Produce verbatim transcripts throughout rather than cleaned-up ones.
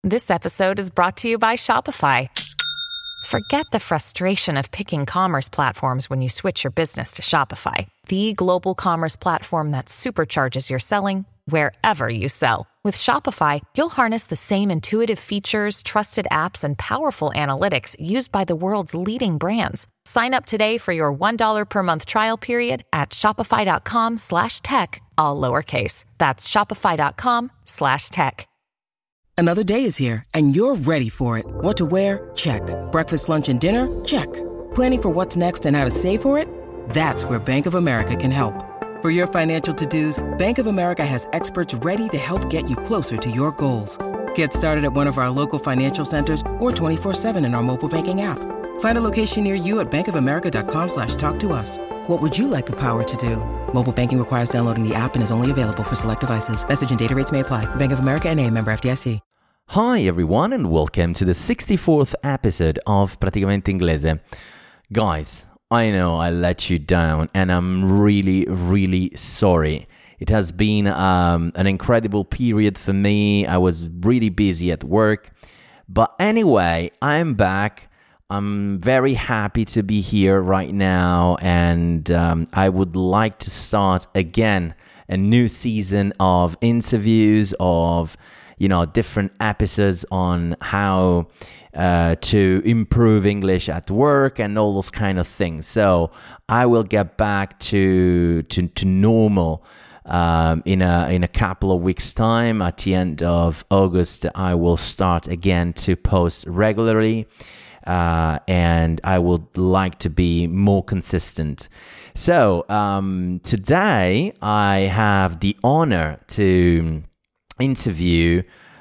This episode is brought to you by Shopify. Forget the frustration of picking commerce platforms when you switch your business to Shopify, the global commerce platform that supercharges your selling wherever you sell. With Shopify, you'll harness the same intuitive features, trusted apps, and powerful analytics used by the world's leading brands. Sign up today for your one dollar per month trial period at shopify.com slash tech, all lowercase. That's shopify.com slash tech. Another day is here, and you're ready for it. What to wear? Check. Breakfast, lunch, and dinner? Check. Planning for what's next and how to save for it? That's where Bank of America can help. For your financial to-dos, Bank of America has experts ready to help get you closer to your goals. Get started at one of our local financial centers or twenty-four seven in our mobile banking app. Find a location near you at bankofamerica.com slash talk to us. What would you like the power to do? Mobile banking requires downloading the app and is only available for select devices. Message and data rates may apply. Bank of America N A, member F D I C. Hi everyone and welcome to the sixty-fourth episode of Praticamente Inglese. Guys, I know I let you down and I'm really, really sorry. It has been um, an incredible period for me. I was really busy at work. But anyway, I'm back. I'm very happy to be here right now, and um, I would like to start again a new season of interviews, of, you know, different episodes on how uh, to improve English at work and all those kind of things. So I will get back to to, to normal um, in a in a couple of weeks' time. At the end of August, I will start again to post regularly. Uh, and I would like to be more consistent. So um, today I have the honor to interview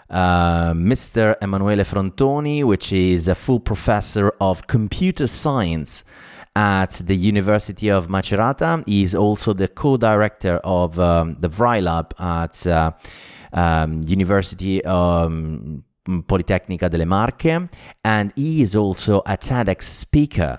uh, Mister Emanuele Frontoni, which is a full professor of computer science at the University of Macerata. He's also the co-director of um, the VryLab at uh, um, University um, Politecnica delle Marche, and he is also a TEDx speaker.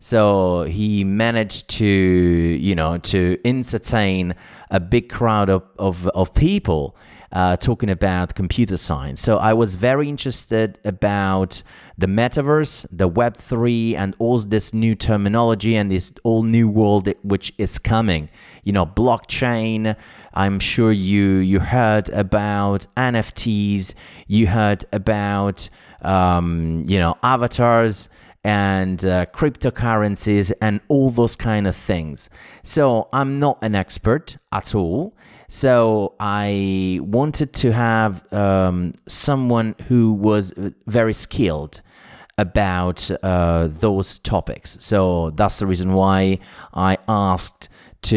So he managed to, you know, to entertain a big crowd of, of, of people uh, talking about computer science. So I was very interested about the metaverse, the Web three, and all this new terminology and this all new world which is coming. You know, blockchain. I'm sure you you heard about N F Ts. You heard about um, you know, avatars and uh, cryptocurrencies and all those kind of things. So I'm not an expert at all. So I wanted to have um, someone who was very skilled about uh, those topics. So that's the reason why I asked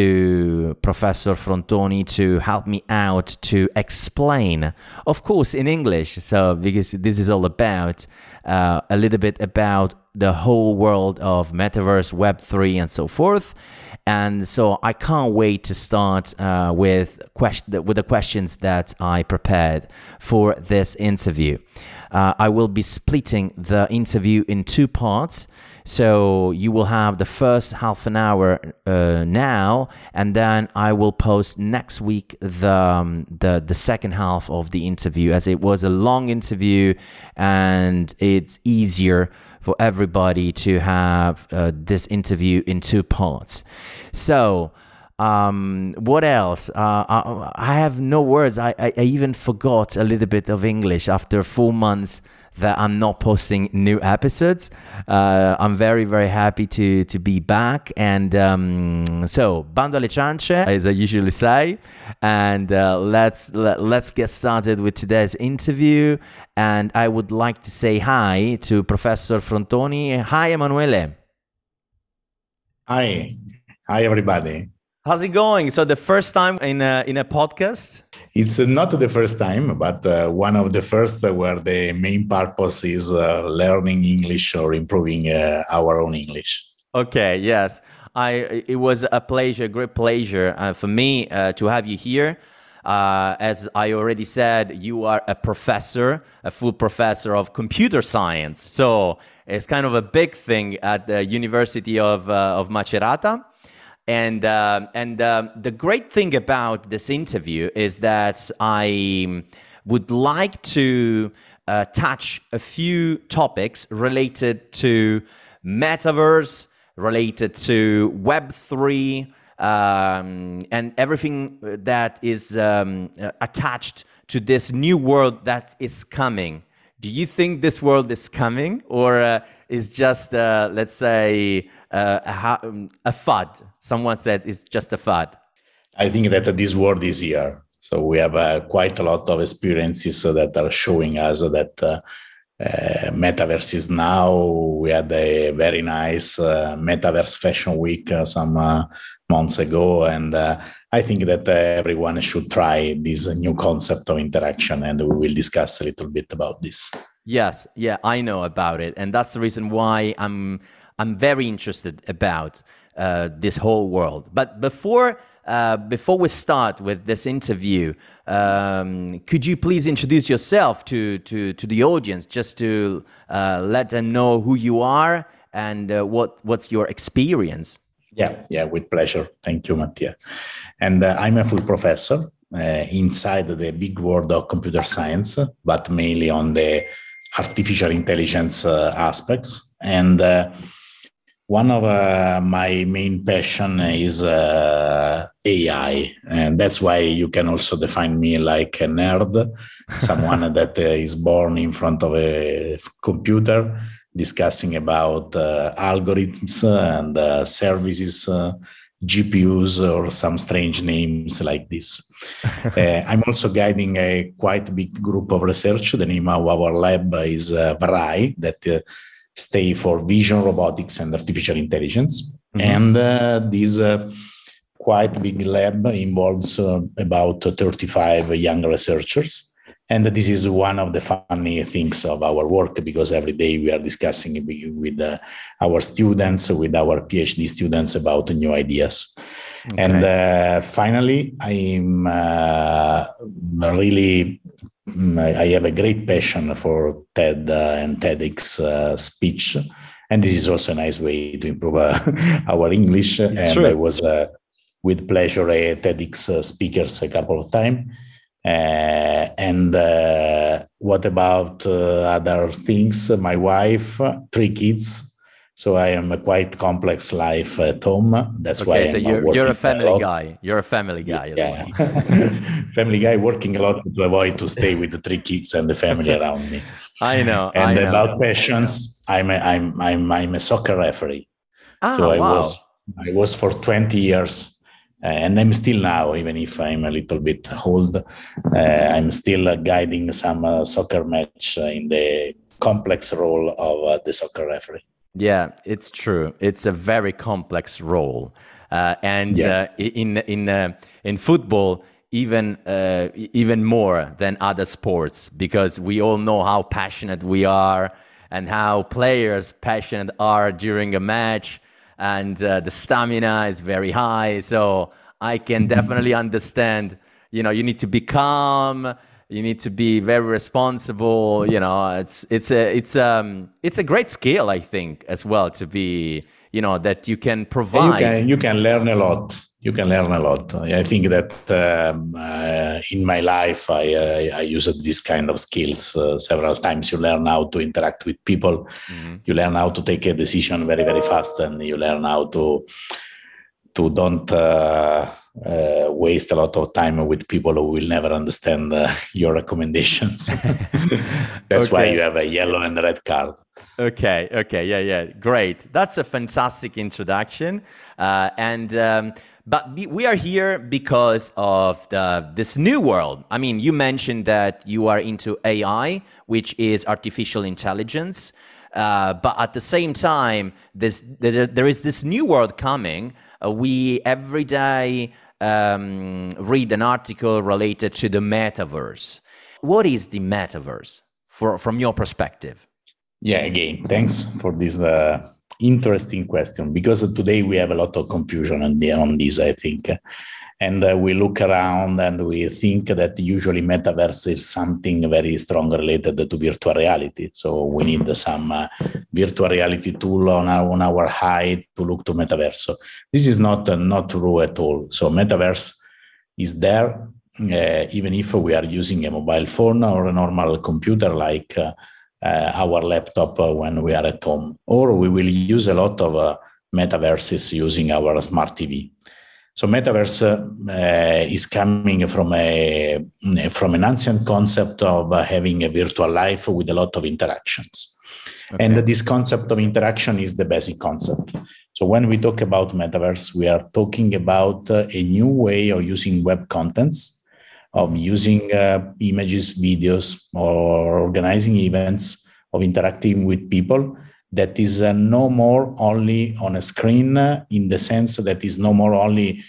to Professor Frontoni to help me out to explain, of course, in English. So because this is all about uh, a little bit about the whole world of metaverse, Web three, and so forth. And so I can't wait to start uh, with question with the questions that I prepared for this interview. Uh, I will be splitting the interview in two parts. So you will have the first half an hour uh, now, and then I will post next week the, um, the the second half of the interview, as it was a long interview and it's easier for everybody to have uh, this interview in two parts. So um, what else? Uh, I, I have no words. I, I, I even forgot a little bit of English after four months that I'm not posting new episodes. Uh, I'm very, very happy to to be back. And um, so, bando alle ciance, as I usually say. And uh, let's let, let's get started with today's interview. And I would like to say hi to Professor Frontoni. Hi, Emanuele. Hi. Hi, everybody. How's it going? So the first time in a, in a podcast? It's not the first time, but uh, one of the first where the main purpose is uh, learning English or improving uh, our own English. Okay, yes. I. It was a pleasure, great pleasure uh, for me uh, to have you here. Uh, as I already said, you are a professor, a full professor of computer science. So it's kind of a big thing at the University of, uh, of Macerata. And uh, and uh, the great thing about this interview is that I would like to uh, touch a few topics related to metaverse, related to Web three, um, and everything that is um, attached to this new world that is coming. Do you think this world is coming, or uh, is just, uh, let's say, uh, a, a fad? Someone says it's just a fad. I think that this world is here. So we have uh, quite a lot of experiences that are showing us that uh, uh, metaverse is now. We had a very nice uh, metaverse fashion week uh, some uh, months ago. And uh, I think that uh, everyone should try this new concept of interaction, and we will discuss a little bit about this. Yes, yeah, I know about it. And that's the reason why I'm I'm very interested about uh, this whole world. But before uh, before we start with this interview, um, could you please introduce yourself to, to, to the audience, just to uh, let them know who you are and uh, what what's your experience? Yeah, yeah, with pleasure. Thank you, Mattia. And uh, I'm a full professor uh, inside the big world of computer science, but mainly on the artificial intelligence uh, aspects. And uh, one of uh, my main passion is uh, A I. And that's why you can also define me like a nerd, someone that uh, is born in front of a computer, discussing about uh, algorithms and uh, services, uh, G P Us, or some strange names like this. uh, I'm also guiding a quite big group of research. The name of our lab is uh, V R A I, that uh, stay for Vision, Robotics, and Artificial Intelligence. Mm-hmm. And uh, this uh, quite big lab involves uh, about thirty-five young researchers. And this is one of the funny things of our work, because every day we are discussing with uh, our students, with our PhD students, about new ideas. Okay. And uh, finally, I'm uh, really, I have a great passion for TED uh, and TEDx uh, speech. And this is also a nice way to improve uh, our English. It's and true. I was uh, with pleasure a TEDx uh, speaker a couple of times. Uh, and uh, what about uh, other things? My wife, three kids. So I am a quite complex life at home. That's okay, why so I'm you're, you're a family a guy. You're a family guy as yeah. well. Family guy, working a lot to avoid to stay with the three kids and the family around me. I know. And I know. About passions, I'm a, I'm I'm I'm a soccer referee. Ah, so I wow. was I was for twenty years. Uh, and I'm still now, even if I'm a little bit old, uh, I'm still uh, guiding some uh, soccer match uh, in the complex role of uh, the soccer referee. Yeah, it's true. It's a very complex role, uh, and yeah. uh, in in uh, in football, even uh, even more than other sports, because we all know how passionate we are and how players passionate are during a match. And uh, the stamina is very high. So I can definitely understand, you know, you need to be calm. You need to be very responsible. You know, it's it's a it's um it's a great skill, I think, as well, to be, you know, that you can provide. You can, you can learn a lot. You can learn a lot. I think that um, uh, in my life, I, uh, I used this kind of skills uh, several times. You learn how to interact with people. Mm-hmm. You learn how to take a decision very, very fast, and you learn how to to don't uh, uh, waste a lot of time with people who will never understand uh, your recommendations. That's okay. Why you have a yellow and red card. Okay. Okay. Yeah. Yeah. Great. That's a fantastic introduction. Uh, and um, but we are here because of the, this new world. I mean, you mentioned that you are into A I, which is artificial intelligence. Uh, but at the same time, this, there, there is this new world coming. Uh, we every day um, read an article related to the metaverse. What is the metaverse for, from your perspective? Yeah, again, thanks for this uh, interesting question, because today we have a lot of confusion on, the, on this, I think. And uh, we look around and we think that usually metaverse is something very strong related to virtual reality. So we need some uh, virtual reality tool on our, on our eye to look to metaverse. So this is not, uh, not true at all. So metaverse is there. uh, even if we are using a mobile phone or a normal computer like uh, uh, our laptop uh, when we are at home, or we will use a lot of uh, metaverses using our smart T V. So metaverse uh, is coming from a from an ancient concept of uh, having a virtual life with a lot of interactions. Okay. And this concept of interaction is the basic concept. So when we talk about metaverse, we are talking about uh, a new way of using web contents, of using uh, images, videos, or organizing events, of interacting with people that is uh, no more only on a screen, uh, in the sense that is no more only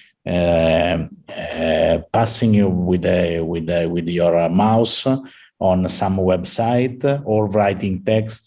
uh, uh, passing you with a, with a, with your uh, mouse on some website, or writing text,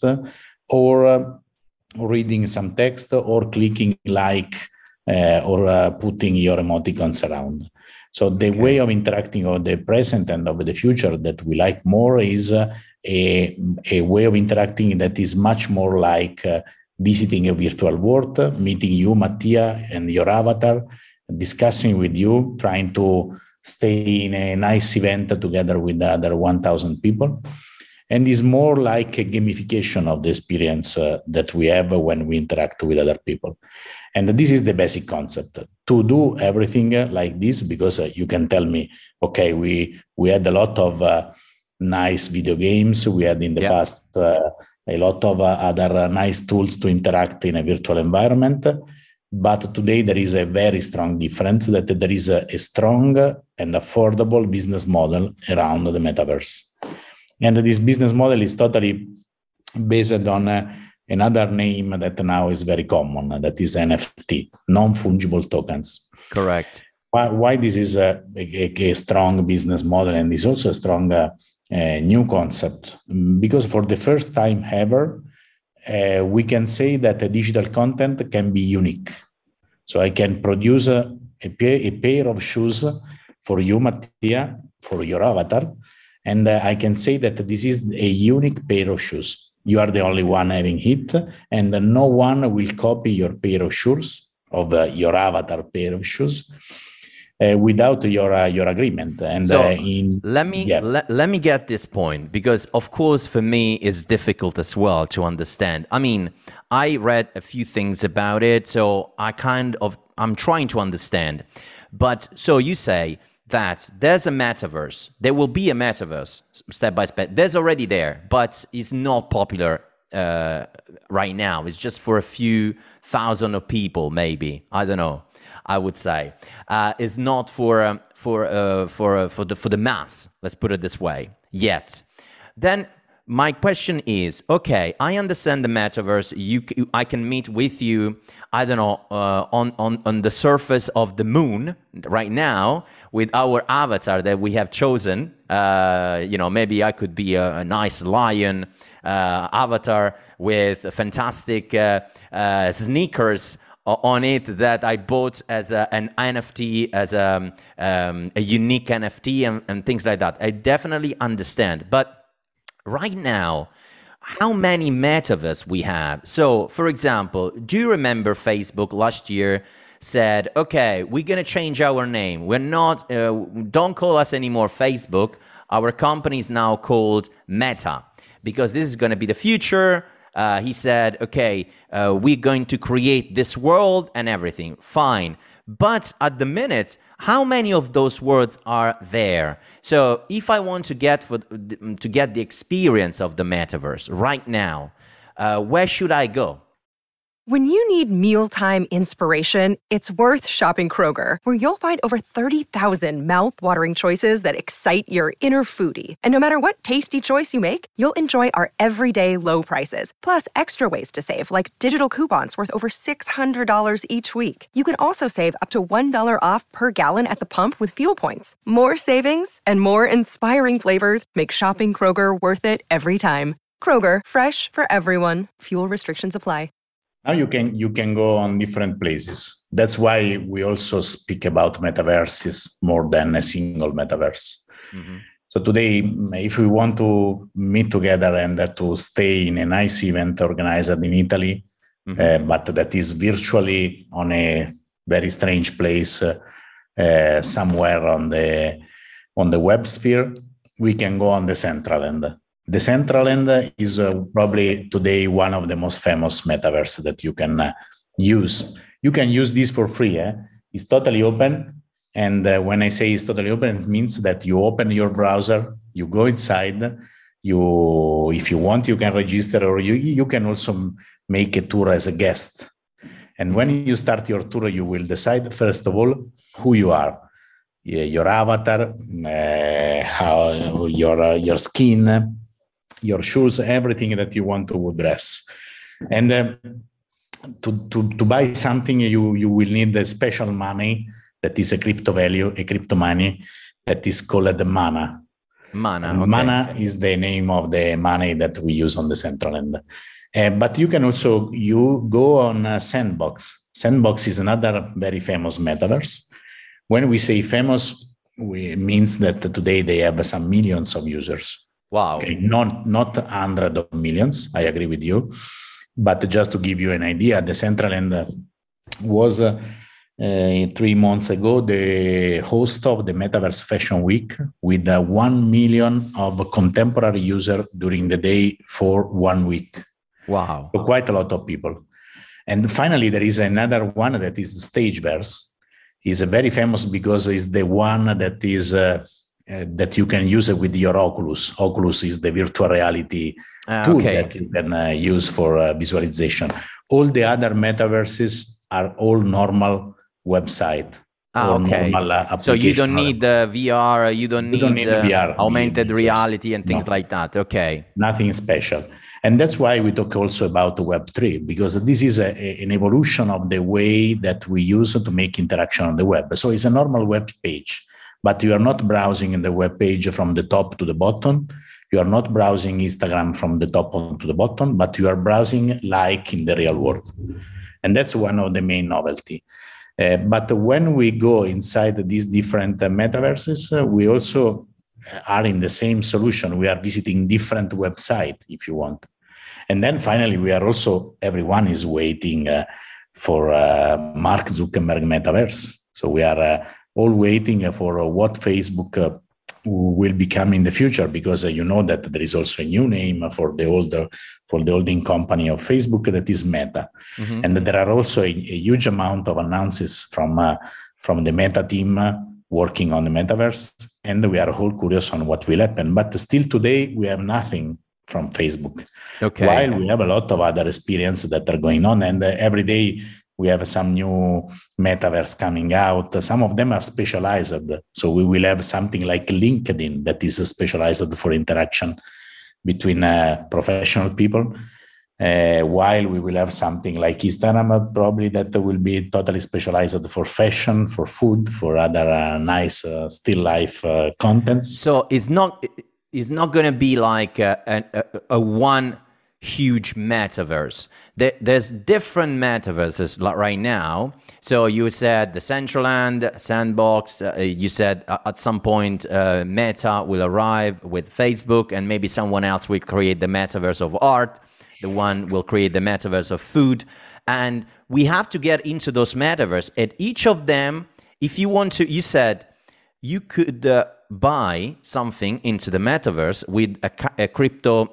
or uh, reading some text, or clicking like, uh, or uh, putting your emoticons around. So the okay. way of interacting of the present and of the future that we like more is uh, a, a way of interacting that is much more like uh, visiting a virtual world, meeting you, Mattia, and your avatar, discussing with you, trying to stay in a nice event together with the other one thousand people. And is more like a gamification of the experience uh, that we have when we interact with other people. And this is the basic concept, to do everything like this, because uh, you can tell me, okay, we, we had a lot of uh, nice video games. We had in the yeah. past uh, a lot of uh, other uh, nice tools to interact in a virtual environment. But today there is a very strong difference, that there is a, a strong and affordable business model around the metaverse. And this business model is totally based on uh, another name that now is very common, that is N F T, non-fungible tokens. Correct. Why, why this is a, a, a strong business model, and is also a strong uh, uh, new concept? Because for the first time ever, uh, we can say that a digital content can be unique. So I can produce a, a, pair, a pair of shoes for you, Mattia, for your avatar, and uh, I can say that this is a unique pair of shoes. You are the only one having it, and uh, no one will copy your pair of shoes, of uh, your avatar pair of shoes, uh, without your uh, your agreement. And so uh, in, let me yeah. let, let me get this point, because of course for me it's difficult as well to understand. I mean, I read a few things about it, so I kind of I'm trying to understand. But so you say that there's a metaverse. There will be a metaverse step by step. There's already there, but it's not popular uh, right now. It's just for a few thousand of people, maybe. I don't know. I would say uh, it's not for um, for uh, for uh, for the for the mass. Let's put it this way. Yet, then my question is: okay, I understand the metaverse. You, I can meet with you. I don't know, uh, on, on, on the surface of the moon right now with our avatar that we have chosen. Uh, you know, maybe I could be a, a nice lion uh, avatar with fantastic uh, uh, sneakers on it that I bought as a, an N F T, as a, um, a unique N F T and, and things like that. I definitely understand. But right now, how many metaverse we have? So, for example, do you remember Facebook last year said, okay, we're going to change our name. We're not, uh, don't call us anymore Facebook. Our company is now called Meta, because this is going to be the future. Uh, he said, okay, uh, we're going to create this world and everything. Fine. But at the minute, how many of those words are there? So if I want to get for, to get the experience of the metaverse right now, uh, where should I go? When you need mealtime inspiration, it's worth shopping Kroger, where you'll find over thirty thousand mouth-watering choices that excite your inner foodie. And no matter what tasty choice you make, you'll enjoy our everyday low prices, plus extra ways to save, like digital coupons worth over six hundred dollars each week. You can also save up to one dollar off per gallon at the pump with fuel points. More savings and more inspiring flavors make shopping Kroger worth it every time. Kroger, fresh for everyone. Fuel restrictions apply. Now you can you can go on different places. That's why we also speak about metaverses more than a single metaverse. Mm-hmm. So today, if we want to meet together and uh, to stay in a nice event organized in Italy, mm-hmm. uh, but that is virtually on a very strange place, uh, uh, somewhere on the on the web sphere, we can go on Decentraland. Decentraland is uh, probably today one of the most famous metaverse that you can uh, use. You can use this for free. Eh? It's totally open. And uh, when I say it's totally open, it means that you open your browser, you go inside, you, if you want, you can register, or you, you can also make a tour as a guest. And when you start your tour, you will decide, first of all, who you are, your avatar, uh, how your, uh, your skin, your shoes, everything that you want to dress. And uh, to, to, to buy something, you, you will need a special money that is a crypto value, a crypto money that is called the mana. Mana, okay. Mana is the name of the money that we use on Decentraland. Uh, but you can also, you go on uh, Sandbox. Sandbox is another very famous metaverse. When we say famous, we, it means that today they have some millions of users. Wow. Okay, not, not hundreds of millions, I agree with you. But just to give you an idea, Decentraland was uh, uh, three months ago the host of the Metaverse Fashion Week with uh, one million of contemporary users during the day for one week. Wow. So quite a lot of people. And finally, there is another one that is Stageverse. It's very famous because it's the one that is uh, uh, that you can use it with your Oculus. Oculus is the virtual reality uh, tool okay. that you can uh, use for uh, visualization. All the other metaverses are all normal website. Ah, okay. Normal, uh, so you don't need the uh, V R, you don't you need, don't need uh, V R, augmented reality and things no. like that. Okay. Nothing special. And that's why we talk also about Web three, because this is a, a, an evolution of the way that we use to make interaction on the web. So it's a normal web page, but you are not browsing in the web page from the top to the bottom. You are not browsing Instagram from the top to the bottom, but you are browsing like in the real world. And that's one of the main novelty. Uh, but when we go inside these different uh, metaverses, uh, we also are in the same solution. We are visiting different websites, if you want. And then finally, we are also, everyone is waiting uh, for uh, Mark Zuckerberg metaverse. So we are uh, all waiting for uh, what Facebook uh, will become in the future, because uh, you know that there is also a new name for the older, for the holding company of Facebook, that is Meta. Mm-hmm. And there are also a, a huge amount of announcements from, uh, from the Meta team uh, working on the metaverse, and we are all curious on what will happen. But still today, we have nothing from Facebook. Okay. While we have a lot of other experiences that are going on, and uh, every day we have some new metaverse coming out. Some of them are specialized. So we will have something like LinkedIn that is specialized for interaction between uh, professional people. Uh, while we will have something like Instagram, probably that will be totally specialized for fashion, for food, for other uh, nice uh, still life uh, contents. So it's not it's not going to be like a, a, a one huge metaverse. There, there's different metaverses like right now. So you said the Decentraland, Sandbox. Uh, you said uh, at some point uh, Meta will arrive with Facebook, and maybe someone else will create the metaverse of art. The one will create the metaverse of food. And we have to get into those metaverse. At each of them, if you want to, you said you could uh, buy something into the metaverse with a, a crypto,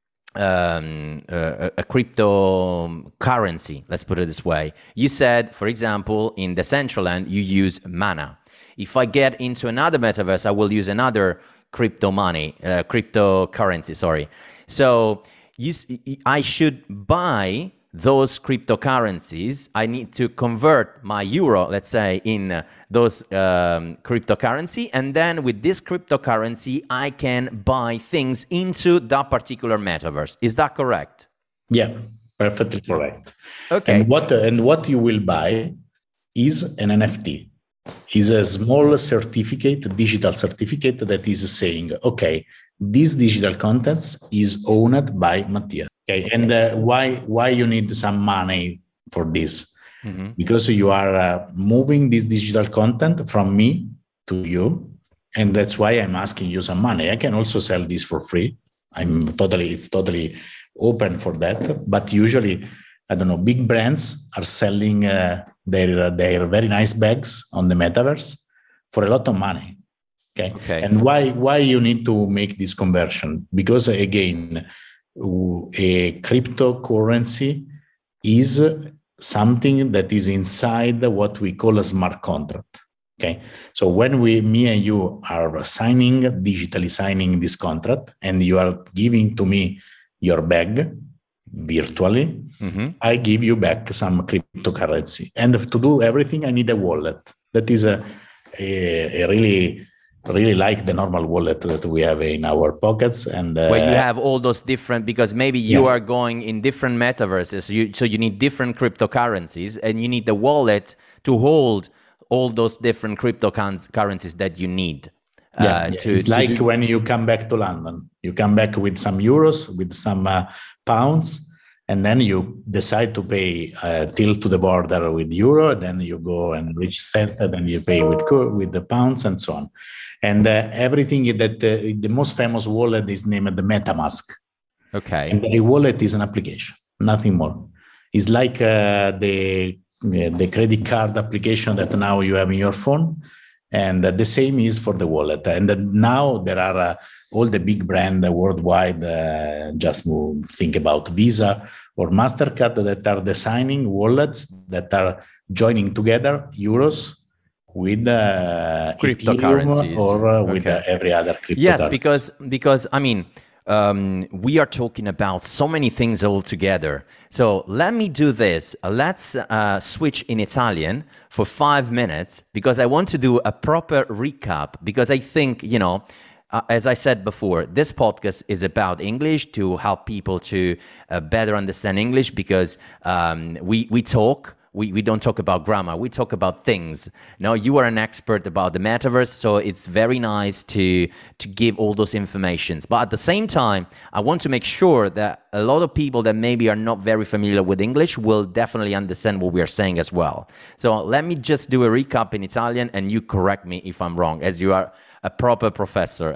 um, uh, a cryptocurrency, let's put it this way. You said, for example, in the Decentraland, you use Mana. If I get into another metaverse, I will use another crypto money, uh, cryptocurrency, sorry. So You, I should buy those cryptocurrencies. I need to convert my euro, let's say, in uh, those um, cryptocurrency. And then with this cryptocurrency, I can buy things into that particular metaverse. Is that correct? Yeah, perfectly correct. Okay. And what, and what you will buy is an N F T. Is a small certificate, a digital certificate that is saying, okay, this digital contents is owned by Mattia. Okay, and uh, why why you need some money for this? Mm-hmm. Because you are uh, moving this digital content from me to you, and that's why I'm asking you some money. I can also sell this for free. I'm totally it's totally open for that. But usually, I don't know, big brands are selling uh, their their very nice bags on the metaverse for a lot of money. Okay. Okay. And why why you need to make this conversion? Because again, a cryptocurrency is something that is inside what we call a smart contract. Okay. So when we, me and you are signing, digitally signing this contract, and you are giving to me your bag virtually, mm-hmm. I give you back some cryptocurrency. And to do everything, I need a wallet. That is a, a, a really, really like the normal wallet that we have in our pockets. And uh, where you have all those different, because maybe you yeah. are going in different metaverses, so you, so you need different cryptocurrencies, and you need the wallet to hold all those different cryptocurrencies that you need. Uh, yeah, yeah. To, it's to like do... when you come back to London, you come back with some euros, with some uh, pounds, and then you decide to pay uh, till to the border with euro. Then you go and reach Stansted, and you pay with with the pounds and so on. And uh, everything that uh, the most famous wallet is named the MetaMask. Okay. And a wallet is an application, nothing more. It's like uh, the the credit card application that now you have in your phone, and uh, the same is for the wallet. And uh, now there are uh, all the big brands worldwide. Uh, just move, think about Visa or MasterCard that are designing wallets that are joining together euros with uh, cryptocurrencies or uh, with okay. uh, every other cryptocurrency. Yes, because because I mean. Um, we are talking about so many things all together. So let me do this. Let's uh, switch in Italian for five minutes because I want to do a proper recap, because I think, you know, uh, as I said before, this podcast is about English, to help people to uh, better understand English, because um, we, we talk. We, we don't talk about grammar, we talk about things. Now, you are an expert about the metaverse, so it's very nice to, to give all those informations. But at the same time, I want to make sure that a lot of people that maybe are not very familiar with English will definitely understand what we are saying as well. So let me just do a recap in Italian, and you correct me if I'm wrong, as you are a proper professor.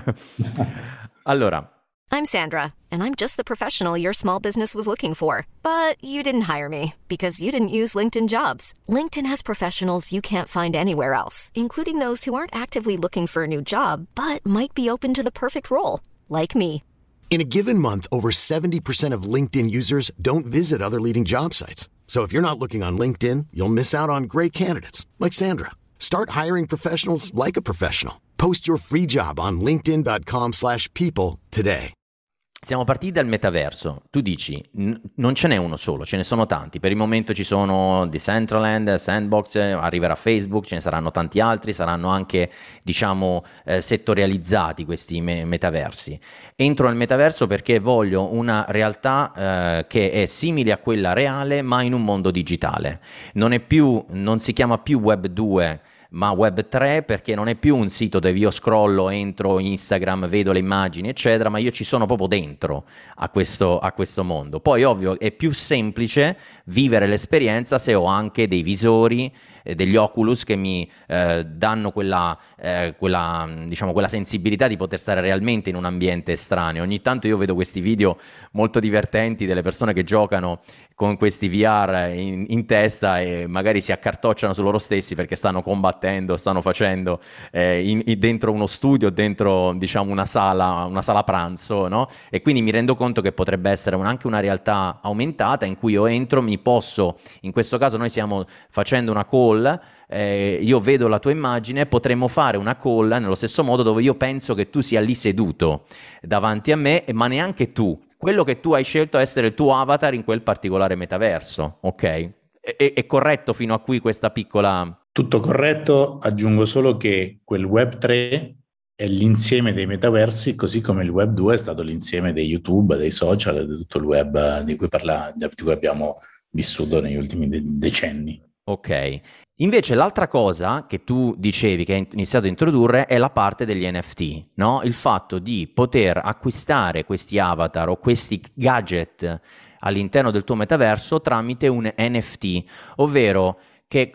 Allora. I'm Sandra, and I'm just the professional your small business was looking for. But you didn't hire me because you didn't use LinkedIn Jobs. LinkedIn has professionals you can't find anywhere else, including those who aren't actively looking for a new job, but might be open to the perfect role, like me. In a given month, over seventy percent of LinkedIn users don't visit other leading job sites. So if you're not looking on LinkedIn, you'll miss out on great candidates, like Sandra. Start hiring professionals like a professional. Post your free job on linkedin.com slash people today. Siamo partiti dal metaverso. Tu dici, n- non ce n'è uno solo, ce ne sono tanti. Per il momento ci sono Decentraland, Sandbox, arriverà Facebook, ce ne saranno tanti altri, saranno anche, diciamo, eh, settorializzati questi me- metaversi. Entro nel metaverso perché voglio una realtà eh, che è simile a quella reale, ma in un mondo digitale. Non è più, non si chiama più Web due, ma Web tre, perché non è più un sito dove io scrollo, entro Instagram, vedo le immagini eccetera, ma io ci sono proprio dentro a questo, a questo mondo. Poi ovvio è più semplice vivere l'esperienza se ho anche dei visori, eh, degli Oculus che mi eh, danno quella, eh, quella, diciamo, quella sensibilità di poter stare realmente in un ambiente estraneo. Ogni tanto io vedo questi video molto divertenti delle persone che giocano con questi V R in, in testa e magari si accartocciano su loro stessi perché stanno combattendo, stanno facendo eh, in, in, dentro uno studio, dentro, diciamo, una sala, una sala pranzo, no? E quindi mi rendo conto che potrebbe essere un, anche una realtà aumentata in cui io entro, mi posso, in questo caso noi stiamo facendo una call, eh, io vedo la tua immagine, potremmo fare una call nello stesso modo dove io penso che tu sia lì seduto davanti a me, ma neanche tu. Quello che tu hai scelto essere il tuo avatar in quel particolare metaverso, ok? È, è corretto fino a qui questa piccola... Tutto corretto, aggiungo solo che quel Web tre è l'insieme dei metaversi, così come il Web due è stato l'insieme dei YouTube, dei social, di tutto il web di cui, parla, di cui abbiamo vissuto negli ultimi de- decenni. Ok. Invece l'altra cosa che tu dicevi, che hai iniziato a introdurre, è la parte degli N F T, no? Il fatto di poter acquistare questi avatar o questi gadget all'interno del tuo metaverso tramite un N F T, ovvero che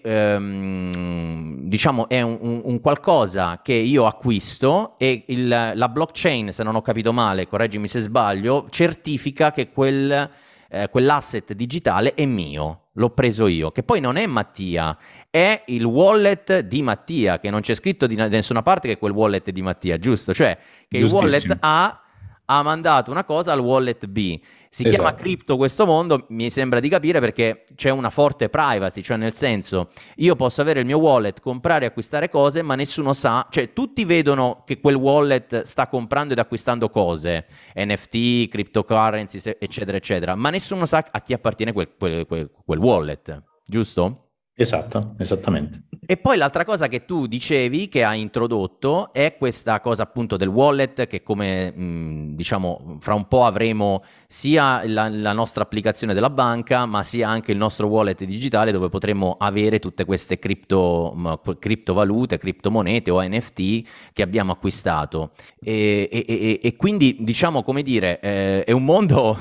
ehm, diciamo è un, un, un qualcosa che io acquisto e il, la blockchain, se non ho capito male, correggimi se sbaglio, certifica che quel eh, quell'asset digitale è mio, l'ho preso io, che poi non è Mattia, è il wallet di Mattia, che non c'è scritto di nessuna parte che quel wallet è di Mattia, giusto? Cioè che il wallet A ha mandato una cosa al wallet B. Si esatto. chiama cripto questo mondo, mi sembra di capire, perché c'è una forte privacy, cioè nel senso, io posso avere il mio wallet, comprare e acquistare cose, ma nessuno sa, cioè tutti vedono che quel wallet sta comprando ed acquistando cose, N F T, cryptocurrencies, eccetera, eccetera, ma nessuno sa a chi appartiene quel, quel, quel, quel wallet, giusto? Esatto, esattamente. E poi l'altra cosa che tu dicevi, che hai introdotto, è questa cosa appunto del wallet, che come mh, diciamo fra un po' avremo sia la, la nostra applicazione della banca, ma sia anche il nostro wallet digitale, dove potremo avere tutte queste cripto, mh, criptovalute, criptomonete o N F T che abbiamo acquistato. E, e, e, e quindi diciamo, come dire, eh, è un mondo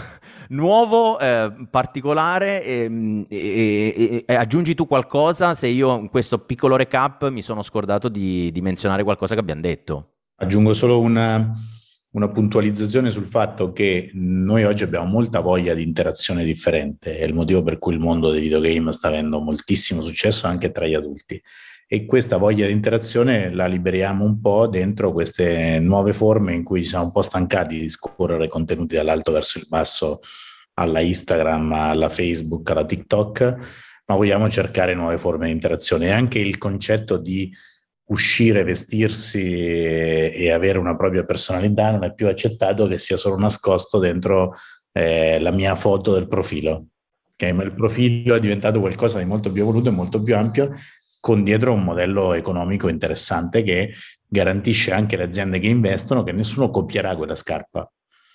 nuovo, eh, particolare, e, e, e, e aggiungi tu qualcosa se io in questo piccolo recap mi sono scordato di, di menzionare qualcosa che abbiamo detto. Aggiungo solo una, una puntualizzazione sul fatto che noi oggi abbiamo molta voglia di interazione differente, è il motivo per cui il mondo dei videogame sta avendo moltissimo successo anche tra gli adulti, e questa voglia di interazione la liberiamo un po' dentro queste nuove forme in cui ci siamo un po' stancati di scorrere contenuti dall'alto verso il basso alla Instagram, alla Facebook, alla TikTok, ma vogliamo cercare nuove forme di interazione. E anche il concetto di uscire, vestirsi e, e avere una propria personalità non è più accettato che sia solo nascosto dentro eh, la mia foto del profilo. Okay? Ma il profilo è diventato qualcosa di molto più evoluto e molto più ampio, con dietro un modello economico interessante che garantisce anche le aziende che investono che nessuno copierà quella scarpa.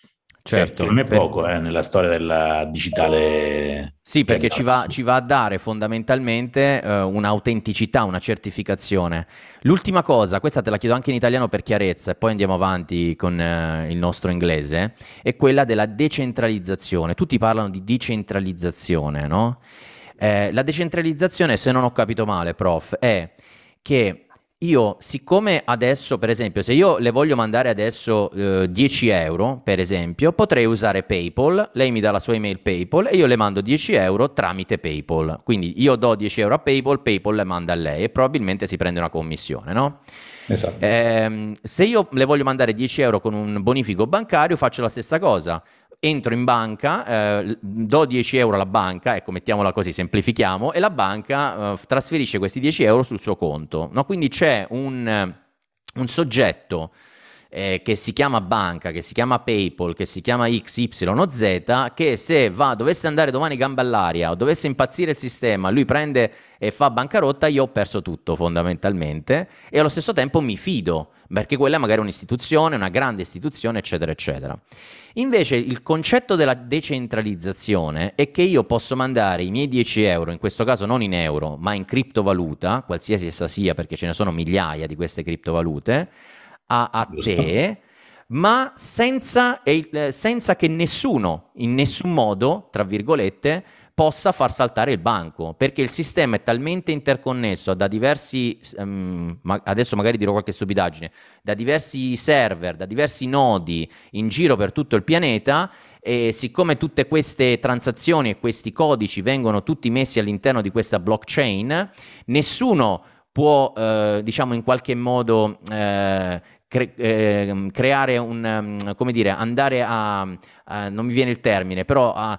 Certo, non è per... poco eh, nella storia della digitale. Sì, perché ci va, ci va a dare fondamentalmente uh, un'autenticità, una certificazione. L'ultima cosa, questa te la chiedo anche in italiano per chiarezza e poi andiamo avanti con uh, il nostro inglese, è quella della decentralizzazione. Tutti parlano di decentralizzazione, no? Eh, la decentralizzazione, se non ho capito male, prof, è che io, siccome adesso, per esempio, se io le voglio mandare adesso eh, dieci euro, per esempio, potrei usare PayPal, lei mi dà la sua email PayPal e io le mando dieci euro tramite PayPal. Quindi io do dieci euro a PayPal, PayPal le manda a lei e probabilmente si prende una commissione, no? Esatto. Eh, se io le voglio mandare dieci euro con un bonifico bancario, faccio la stessa cosa. Entro in banca, eh, do dieci euro alla banca, ecco, mettiamola così, semplifichiamo, e la banca eh, trasferisce questi dieci euro sul suo conto, no? Quindi c'è un, un soggetto eh, che si chiama banca, che si chiama PayPal, che si chiama X Y Z, che se va, dovesse andare domani gamba all'aria o dovesse impazzire il sistema, lui prende e fa bancarotta, io ho perso tutto fondamentalmente, e allo stesso tempo mi fido, perché quella è magari un'istituzione, una grande istituzione, eccetera, eccetera. Invece il concetto della decentralizzazione è che io posso mandare i miei dieci euro, in questo caso non in euro, ma in criptovaluta, qualsiasi essa sia, perché ce ne sono migliaia di queste criptovalute, a, a te, ma senza, eh, senza che nessuno, in nessun modo, tra virgolette, possa far saltare il banco, perché il sistema è talmente interconnesso da diversi, um, ma adesso magari dirò qualche stupidaggine, da diversi server, da diversi nodi in giro per tutto il pianeta, e siccome tutte queste transazioni e questi codici vengono tutti messi all'interno di questa blockchain, nessuno può, eh, diciamo in qualche modo, eh, cre- eh, creare un, um, come dire, andare a, a, non mi viene il termine, però a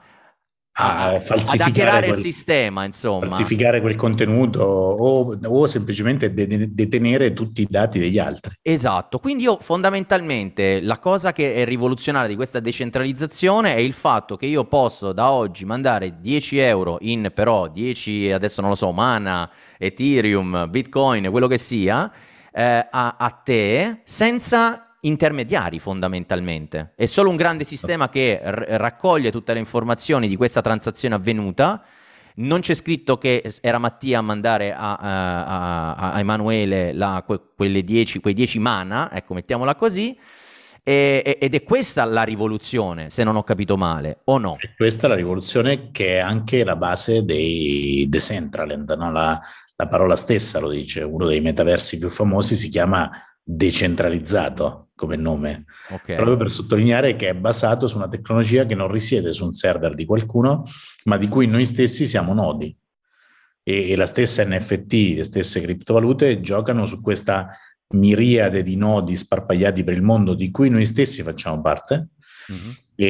A, a, ad hackerare quel, il sistema, insomma, falsificare quel contenuto o, o semplicemente de- detenere tutti i dati degli altri. Esatto, quindi io fondamentalmente la cosa che è rivoluzionaria di questa decentralizzazione è il fatto che io posso da oggi mandare dieci euro in però dieci, adesso non lo so, Mana, Ethereum, Bitcoin, quello che sia, eh, a, a te senza intermediari fondamentalmente. È solo un grande sistema che r- raccoglie tutte le informazioni di questa transazione avvenuta. Non c'è scritto che era Mattia a mandare a, a, a, a Emanuele la, que, quelle dieci, quei dieci mana, ecco, mettiamola così, e, ed è questa la rivoluzione, se non ho capito male, o no? E questa è la rivoluzione che è anche la base dei Decentraland, no? La, la parola stessa lo dice, uno dei metaversi più famosi si chiama decentralizzato. come nome, okay. proprio per sottolineare che è basato su una tecnologia che non risiede su un server di qualcuno, ma di cui noi stessi siamo nodi. E, e la stessa N F T, le stesse criptovalute giocano su questa miriade di nodi sparpagliati per il mondo di cui noi stessi facciamo parte, mm-hmm.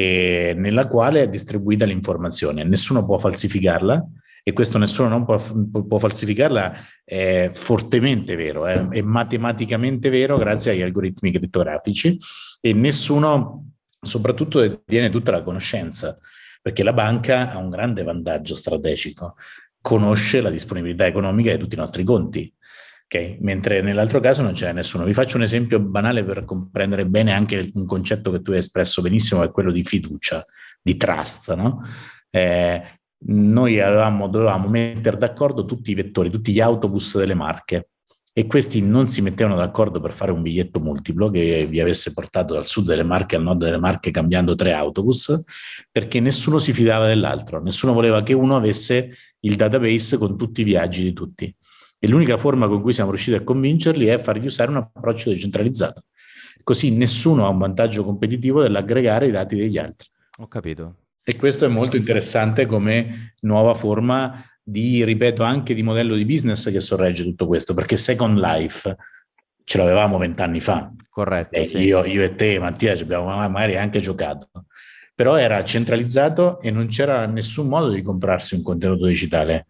e nella quale è distribuita l'informazione. Nessuno può falsificarla, e questo nessuno non può, può falsificarla è fortemente vero, è, è matematicamente vero grazie agli algoritmi crittografici, e nessuno soprattutto detiene tutta la conoscenza, perché la banca ha un grande vantaggio strategico: conosce la disponibilità economica di tutti i nostri conti, okay? Mentre nell'altro caso non c'è nessuno. Vi faccio un esempio banale per comprendere bene anche un concetto che tu hai espresso benissimo, che è quello di fiducia, di trust, no? Eh, noi avevamo, dovevamo mettere d'accordo tutti i vettori, tutti gli autobus delle Marche, e questi non si mettevano d'accordo per fare un biglietto multiplo che vi avesse portato dal sud delle Marche al nord delle Marche cambiando tre autobus, perché nessuno si fidava dell'altro, nessuno voleva che uno avesse il database con tutti i viaggi di tutti. E l'unica forma con cui siamo riusciti a convincerli è fargli usare un approccio decentralizzato. Così nessuno ha un vantaggio competitivo nell'aggregare i dati degli altri. Ho capito. E questo è molto interessante come nuova forma di, ripeto, anche di modello di business che sorregge tutto questo, perché Second Life ce l'avevamo vent'anni fa. Corretto. Eh, sì. io, io e te, Mattia, ci abbiamo magari anche giocato, però era centralizzato e non c'era nessun modo di comprarsi un contenuto digitale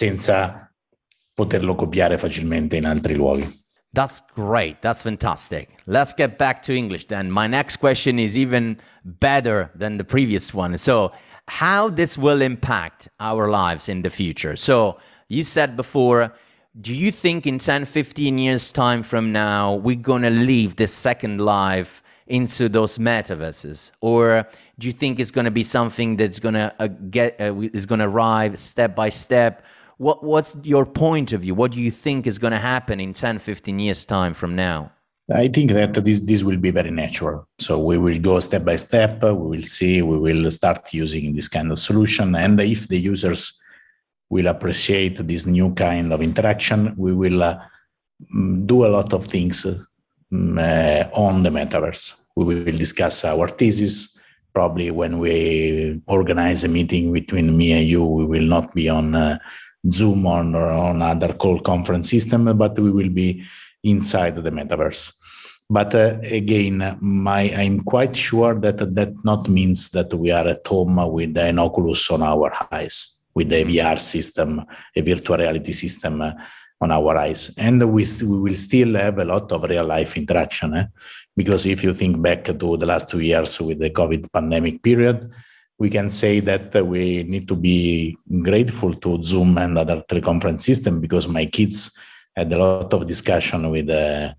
senza poterlo copiare facilmente in altri luoghi. That's great. That's fantastic. Let's get back to English then. My next question is even better than the previous one. So, how this will impact our lives in the future? So, you said before, do you think in ten, fifteen years time from now, we're going to leave this second life into those metaverses? Or do you think it's going to be something that's going to uh, get, uh, is going to arrive step by step? What, what's your point of view? What do you think is going to happen in ten, fifteen years time from now? I think that this, this will be very natural. So we will go step by step. We will see, we will start using this kind of solution. And if the users will appreciate this new kind of interaction, we will uh, do a lot of things um, uh, on the metaverse. We will discuss our thesis. Probably when we organize a meeting between me and you, we will not be on uh, Zoom on, or on other call conference system, but we will be inside the metaverse. But uh, again, my, I'm quite sure that that not means that we are at home with an Oculus on our eyes, with a V R system, a virtual reality system uh, on our eyes. And we, we will still have a lot of real life interaction. Eh? Because if you think back to the last two years with the COVID pandemic period, we can say that uh, we need to be grateful to Zoom and other teleconference system, because my kids had a lot of discussion with uh,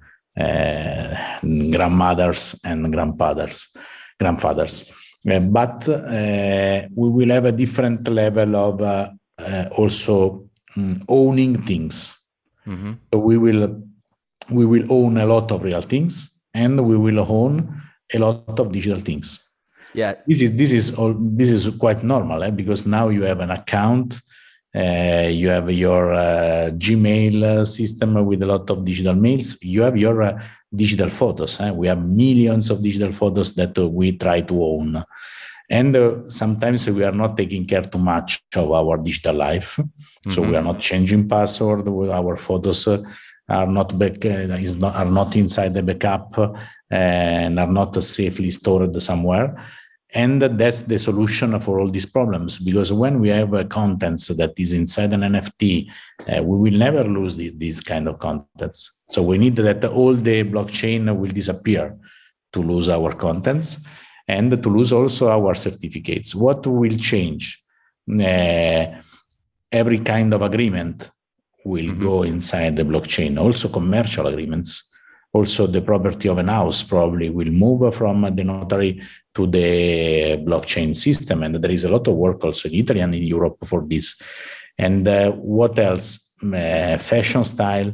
uh, grandmothers and grandfathers. grandfathers. Uh, but uh, we will have a different level of uh, uh, also um, owning things. Mm-hmm. So we will we will own a lot of real things, and we will own a lot of digital things. Yeah, this is this is all. This is quite normal, eh? Because now you have an account, uh, you have your uh, Gmail system with a lot of digital mails. You have your uh, digital photos. Eh? We have millions of digital photos that uh, we try to own, and uh, sometimes we are not taking care too much of our digital life. Mm-hmm. So we are not changing password. Our photos uh, are not back. Uh, is not are not inside the backup uh, and are not safely stored somewhere. And that's the solution for all these problems, because when we have uh, contents that is inside an N F T, uh, we will never lose the, these kind of contents. So we need that all the blockchain will disappear to lose our contents and to lose also our certificates. What will change? Uh, every kind of agreement will mm-hmm. go inside the blockchain, also commercial agreements. Also, the property of an house probably will move from the notary to the blockchain system. And there is a lot of work also in Italy and in Europe for this. And uh, what else? Uh, fashion style,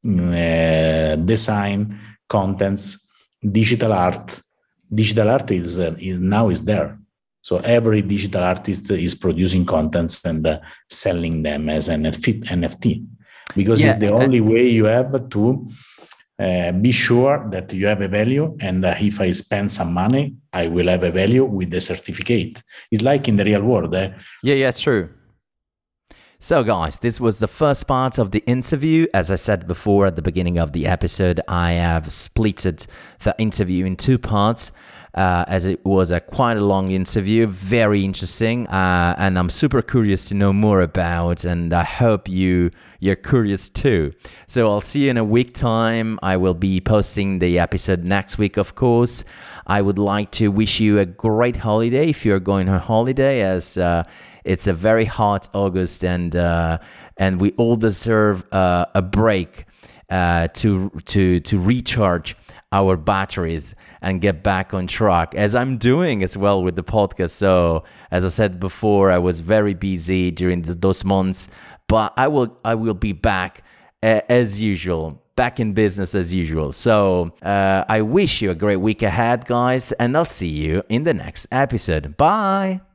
uh, design, contents, digital art. Digital art is, uh, is now is there. So every digital artist is producing contents and uh, selling them as an N F T, because yeah, it's the only way you have to uh, be sure that you have a value. And uh, if I spend some money, I will have a value with the certificate. It's like in the real world. Eh? Yeah, yeah, it's true. So guys, this was the first part of the interview. As I said before at the beginning of the episode, I have splitted the interview in two parts. Uh, as it was a quite a long interview, very interesting, uh, and I'm super curious to know more about, and I hope you, you're curious too. So I'll see you in a week time. I will be posting the episode next week, of course. I would like to wish you a great holiday if you're going on holiday, as uh, it's a very hot August, and uh, and we all deserve uh, a break uh, to to to recharge our batteries and get back on track, as I'm doing as well with the podcast. So as I said before, I was very busy during the, those months, but I will I will be back uh, as usual, back in business as usual. So uh, I wish you a great week ahead, guys, and I'll see you in the next episode. Bye.